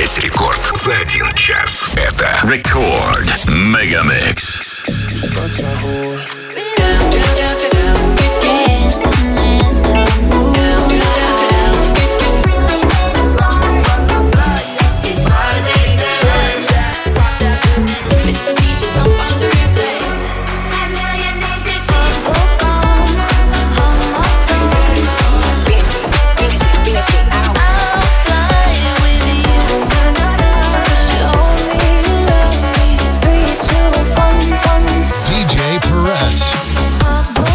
Весь рекорд за 1 час. Это Рекорд Мегамикс. DJ Perez.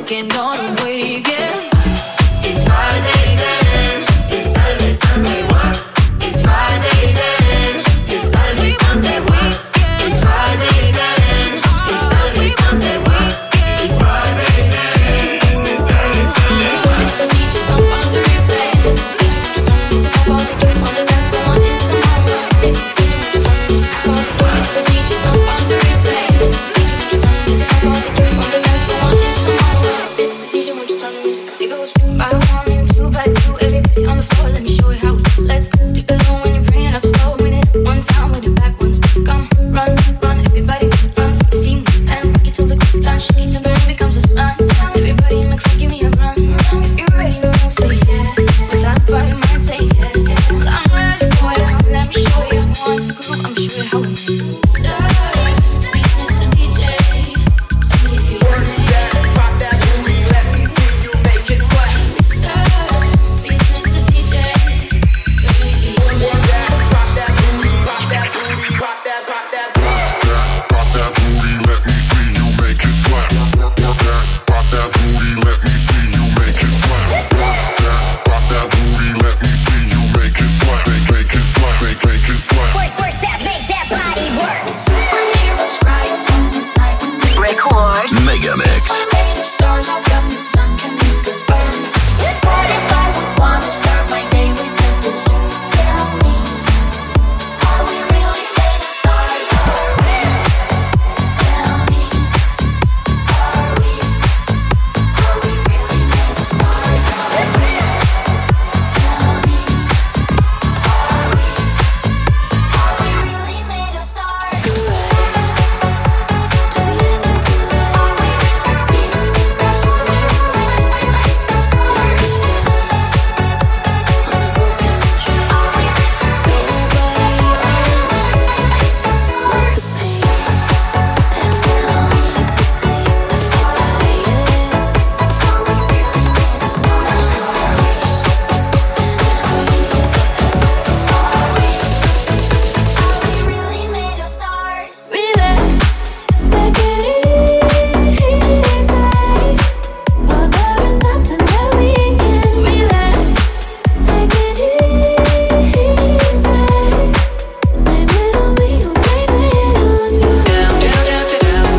surfing on a wave, yeah. It's Friday then, it's Saturday, Sunday, what? It's Friday then, it's Saturday, Sunday, what? It's Friday then, it's Saturday, Sunday, what? It's Friday then, it's Saturday, Sunday, what? Mr. DJ, jump on the replay. Mr. DJ, just turn this up all the game on the dance floor and it's tomorrow. Mr. DJ, just turn this up all the game. Mr. DJ, jump on the replay. Mr. DJ, just turn this up all the game on the dance floor and it's tomorrow. Mr. DJ, won't you turn the music up? It goes by one and two by two. Everybody on the floor, let me show you how we do. Let's go. Take it low when you're bringing up slow. Win it one time with it backwards. Come, run, run, everybody run. See me and rock it till the good time. Shake it till the moon becomes the sun. Everybody in the club, give me a run. If you're ready to move, say yeah. One time for your mind, say yeah. Well, I'm ready for you. Let me show you. Want to groove? I'm sure you how we do. Mr. DJ, tell me if you want it. Rock that booty, let me see you make it flat. Mr. DJ, tell me if you want it. Rock that booty, rock that booty, rock that, rock that. Rock that booty, let me see you make it slap. Rock that booty, let me see you make it slap. Rock that booty, let me see you make it slap. Make it slap, make it slap. Work that, make that body work. Superheroes cry all night. Record. Megamix. Stars all up, the sun can make us burn. What if I would wanna start my day with a dessert? Tell me, are we really made of stars? Are we? Tell me, are we really made of stars? Are we? Tell me, are we really made of stars? To the end of the line. Are we really made of stars? Relax, take it easy. For there is nothing that we can relax. Take it easy. Blame it on me, or blame it on you.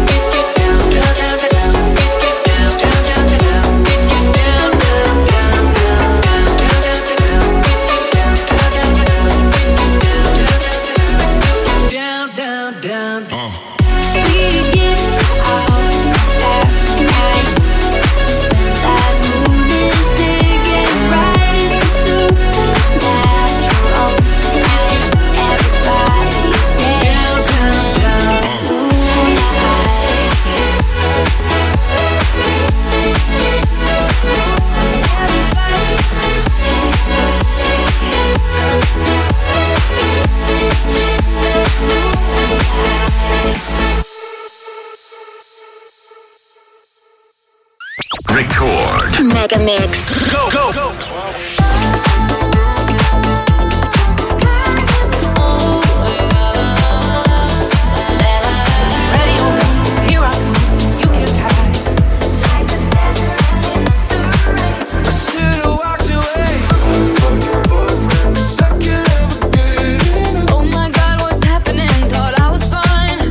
We get out, start night. When that moon is big and bright, it's a supernatural night. Everybody's dancing, Record. Mega Mix. Ready or not, here I come. You can hide. I should've walked away. Second of a good. Oh my God, what's happening? Thought I was fine.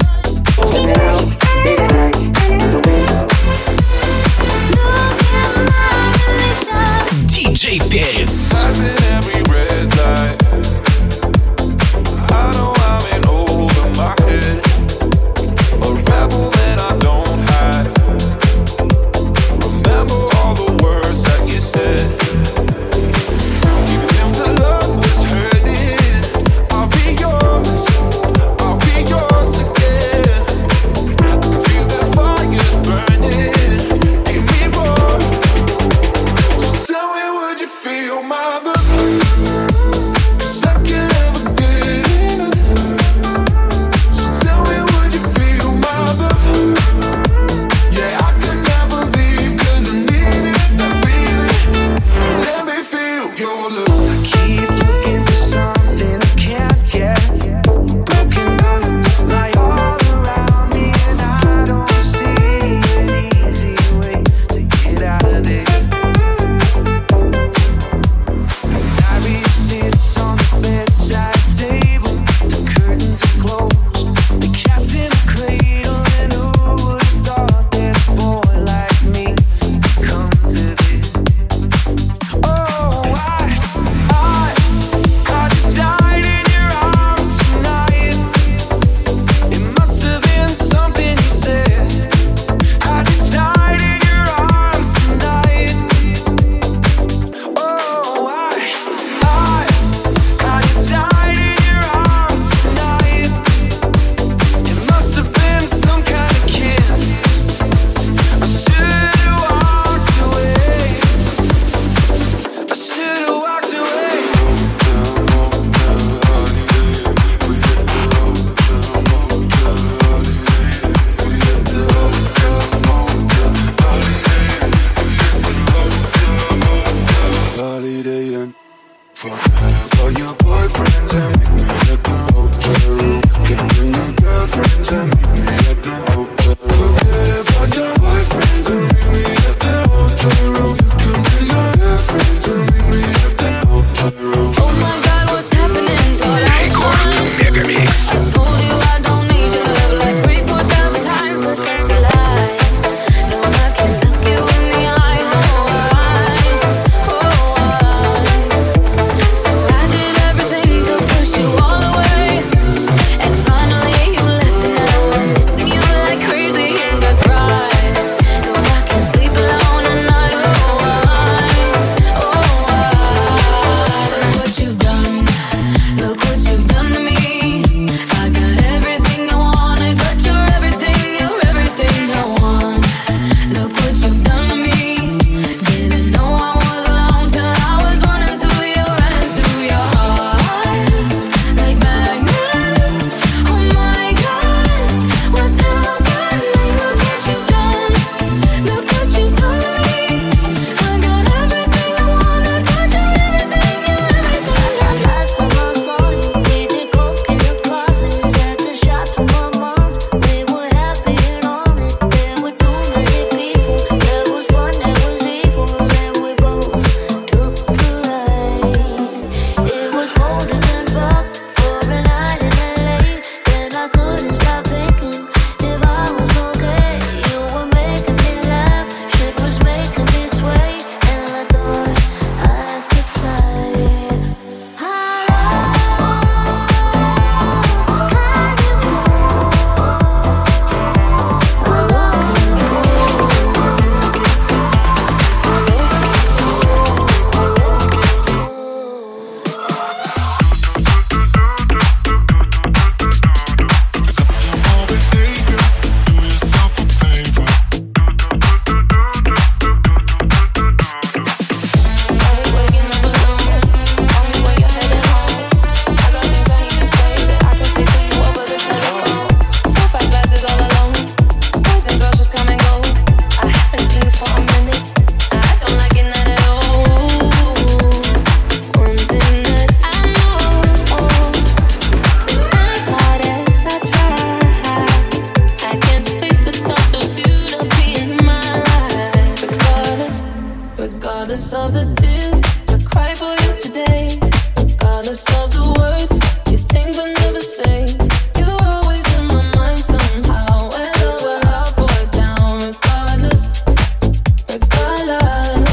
DJ Перец. Passing every red light. I know I'm in over my head. A rebel that I don't hide. Remember all the words that you said. Even if the love was hurting, I'll be yours again. I can feel the fire's burning. Give me more. So tell me, would you feel Regardless of the tears I cry for you today, regardless of the words you think but never say, you're always in my mind somehow, whether we're up or down. Regardless, regardless.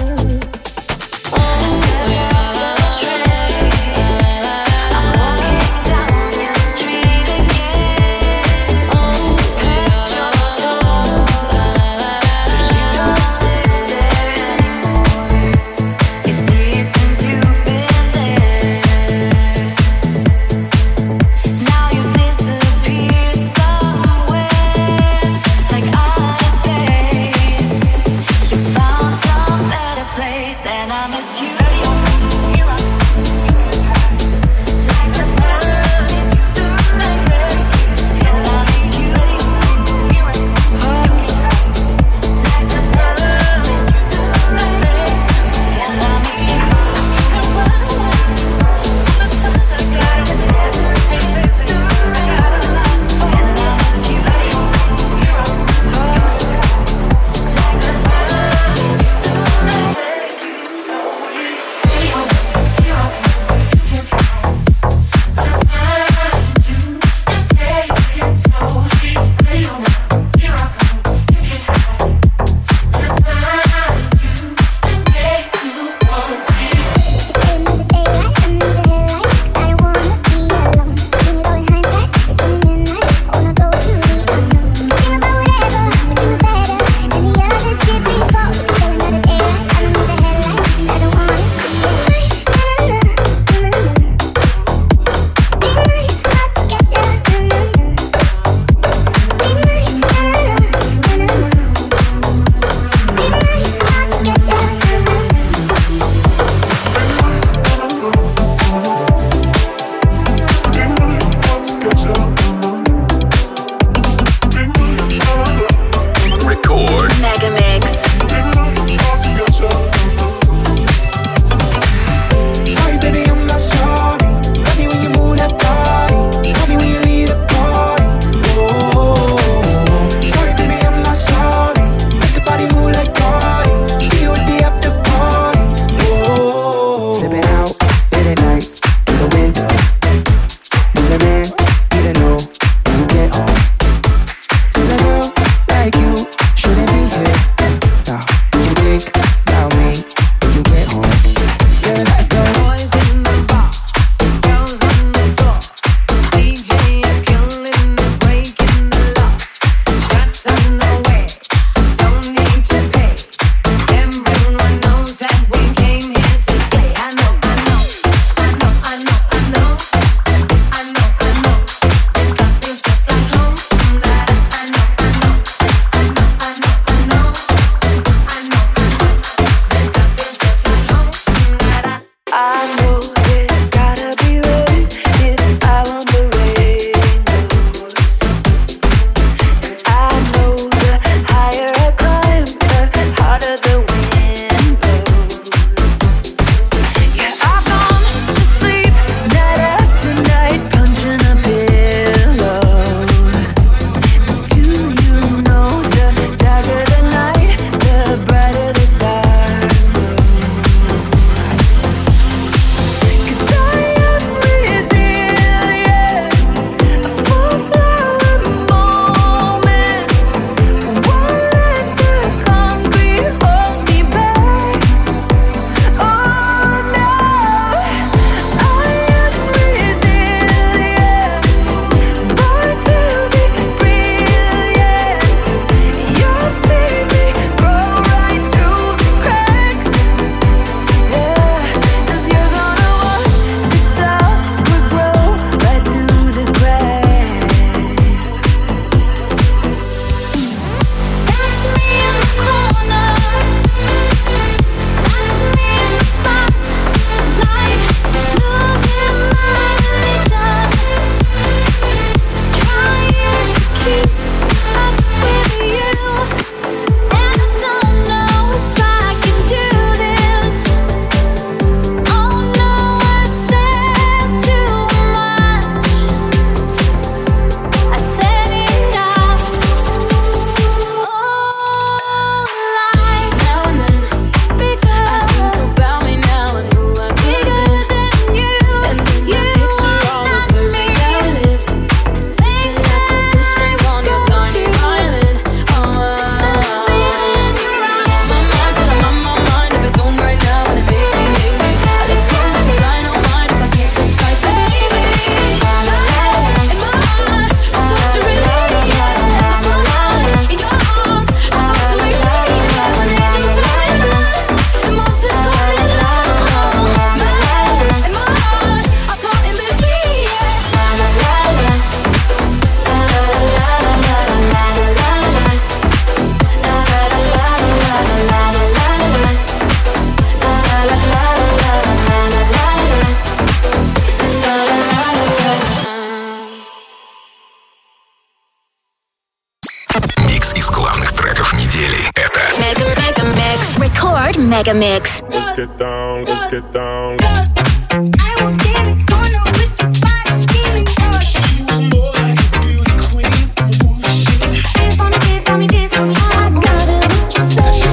Record Mega Mix. Let's get down, let's get down. I walked in the corner with somebody screaming, She was more like a beauty queen from a movie scene. dance for me, dance for me, dance for me. I got it, what you say?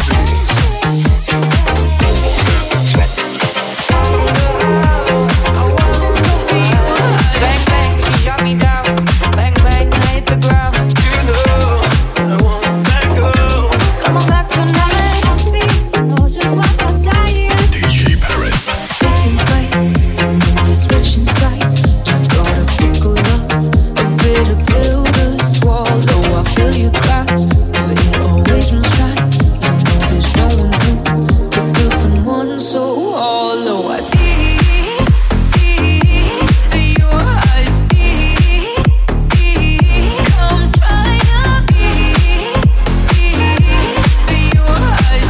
Bang bang, she shot me down. Bang bang, I hit the ground. You know I won't let go. Come on back tonight. Know just what I say. DJ Perez. Picking fights, you're switching sides. Gotta pickle up a bitter pill to swallow. I fill your glass, but it always runs dry. You know there's no one who could feel someone so hollow. I see your eyes. Come try to be your eyes.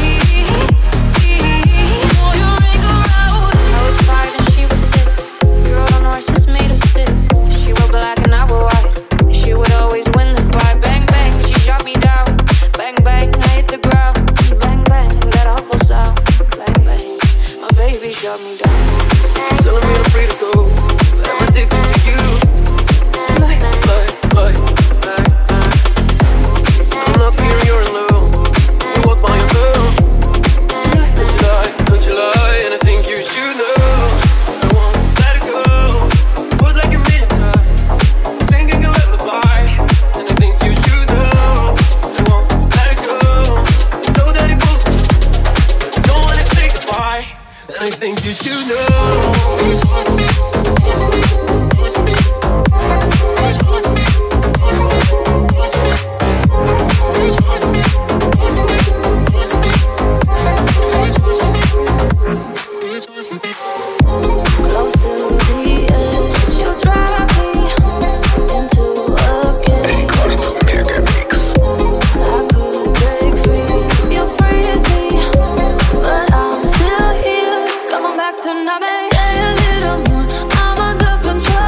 Know your anger out. I was 5 and she was 6. We rode on horses made of sticks. She wore black and I wore white. She would always win the fight. Bang bang, she shot me down. Bang bang, I hit the ground. Bang bang, that awful sound. Bang bang, my baby shot me down. Telling me I'm free to go. But I'm addicted to you. Like. I'm not here, you're in love. You walk by yourself. Don't you lie, and I think you should know. I won't let it go. Was like a million times, singing a lullaby, and I think you should know. I won't let it go. Know that it goes, but don't wanna say goodbye, and I think you should know. Close to the edge, you'll drive me into a cage. Record Mega Mix. I could break free, you'll freeze me, but I'm still here. Come on back tonight, babe. Stay a little more, I'm under control.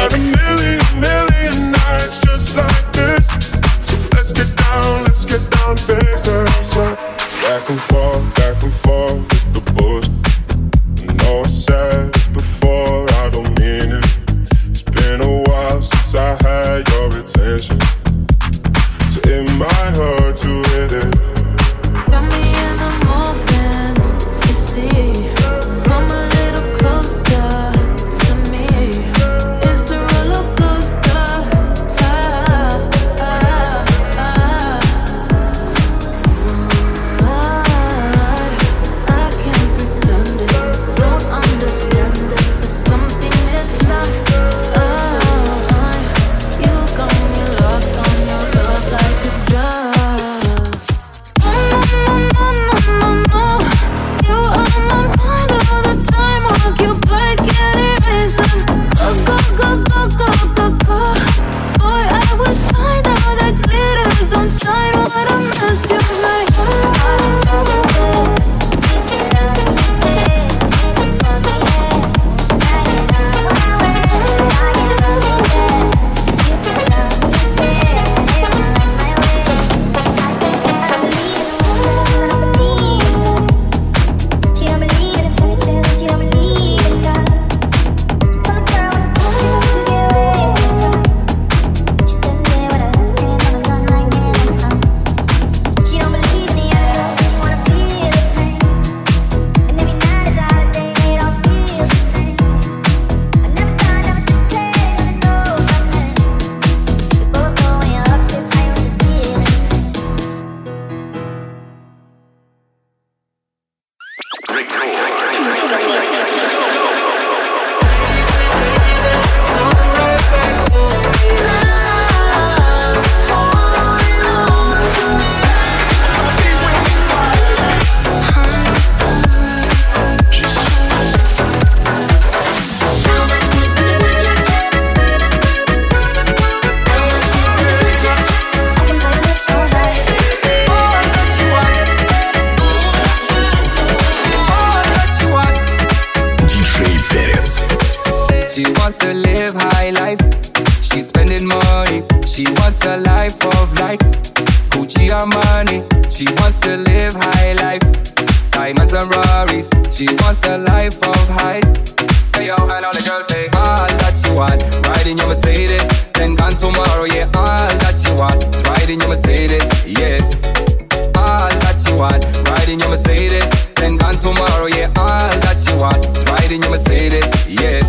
million nights just like this. So let's get down to business. Back and forth with the bullshit. I know I said it before, I don't mean it. It's been a while since I had your attention, so it might hurt to hit it. Got me in the moment, you see. Come a little closer to me. It's a roller coaster. I can't pretend it. Don't understand this is something it's not. You got me locked on your love like a drug. No. You on my mind all the time. Occupied, can't erase them. Go. Boy, I was blind. All that glitters don't shine. What a mess you make. She wants to live high life. She's spending money. She wants a life of likes. Gucci Armani. She wants to live high life. Diamonds and Rarries. She wants a life of highs. Hey yo, and all the girls say all that you want. Riding your Mercedes, then gone tomorrow. Yeah, all that you want. Riding your Mercedes, yeah. All that you want. Riding your Mercedes, then gone tomorrow. Yeah, all that you want. Riding your Mercedes, yeah.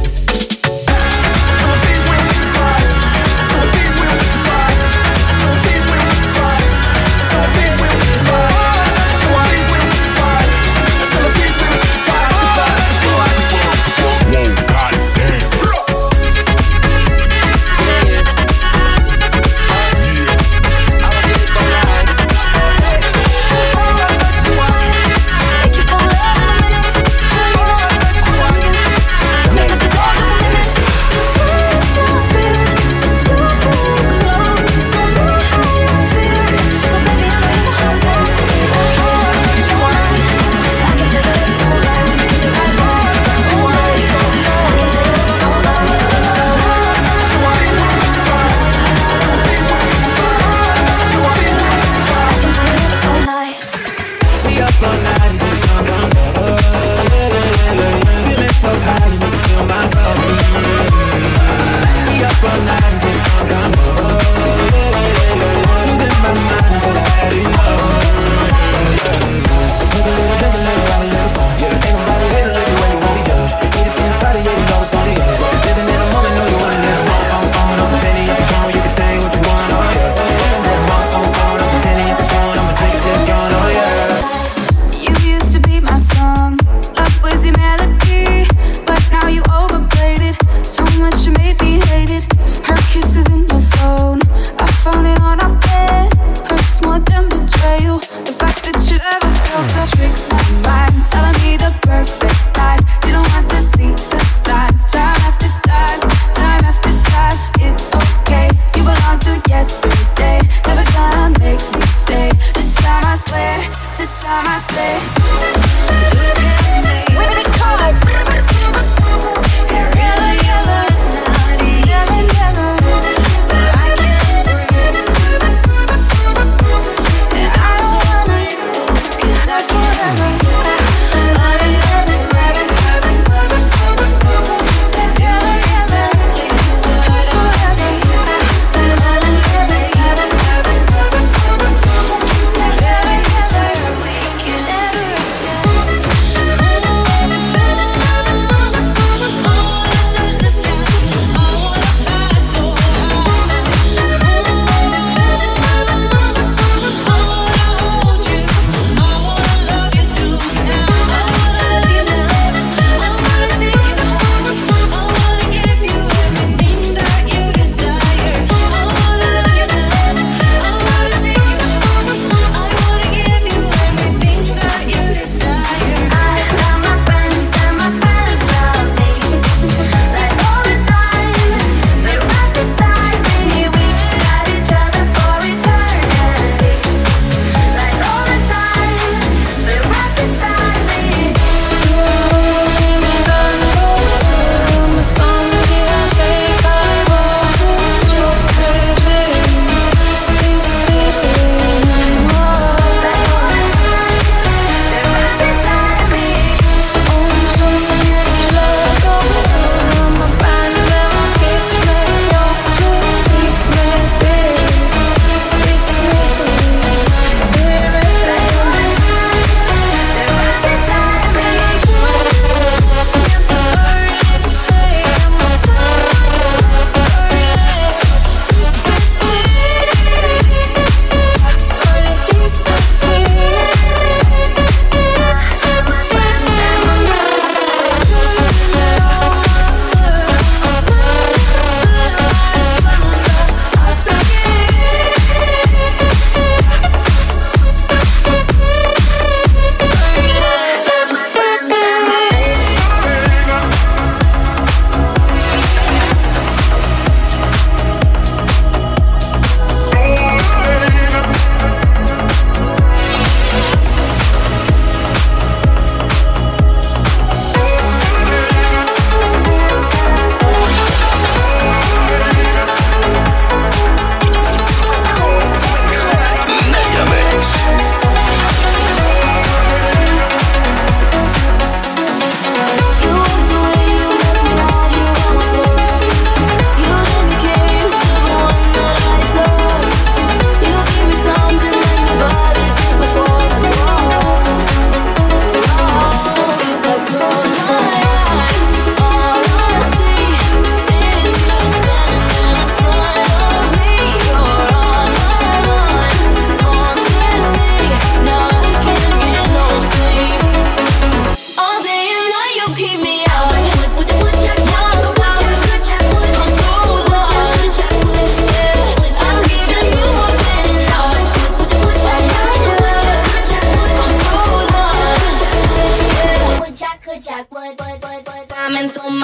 It really was not easy.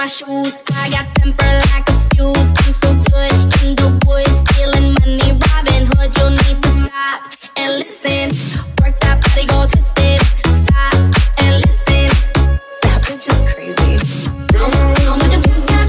my shoes. I got temper like a fuse. I'm so good in the woods, stealing money, Robin Hood. You need to stop and listen. Work that body, go twist it. Stop and listen. That bitch is crazy. I'm gonna do that.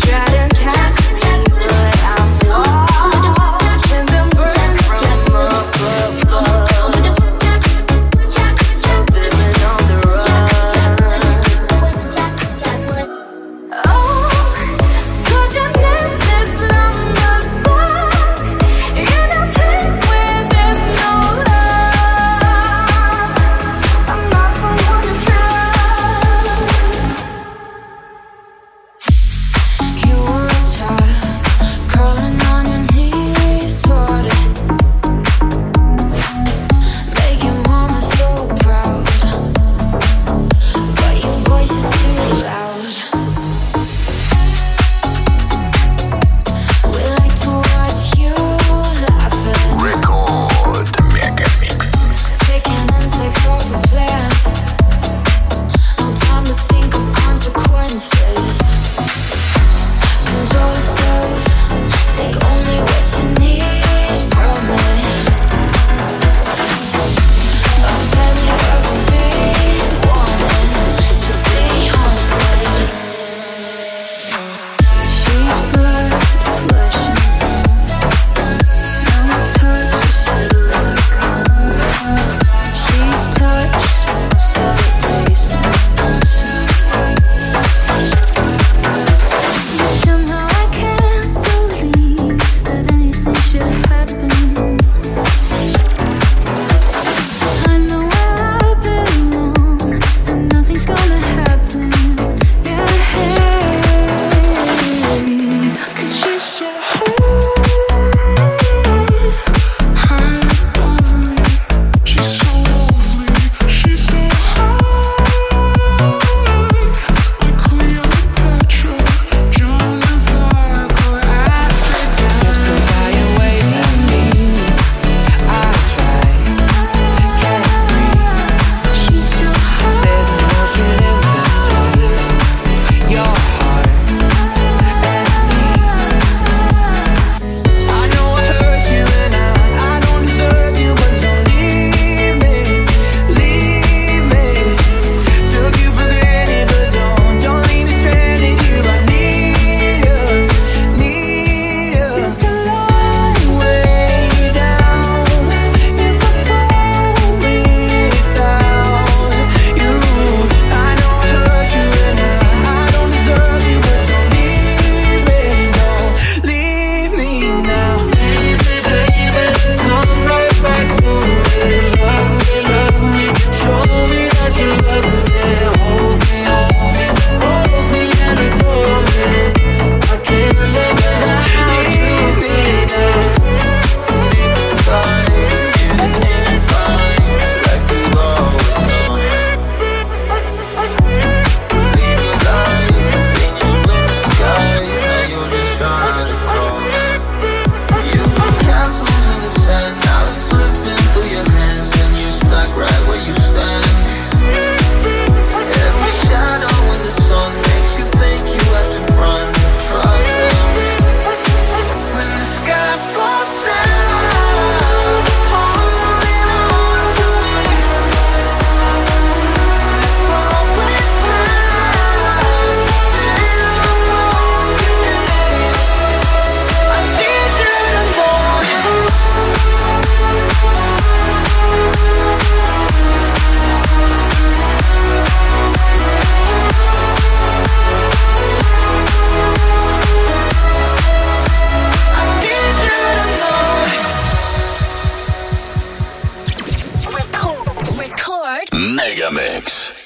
Mega Mix.